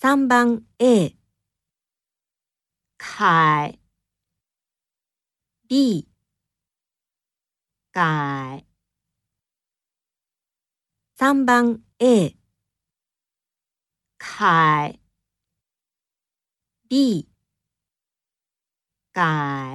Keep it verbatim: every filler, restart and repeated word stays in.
さんばん A、 凯、 B、 改、 さんばん A、 凯、 B、 改。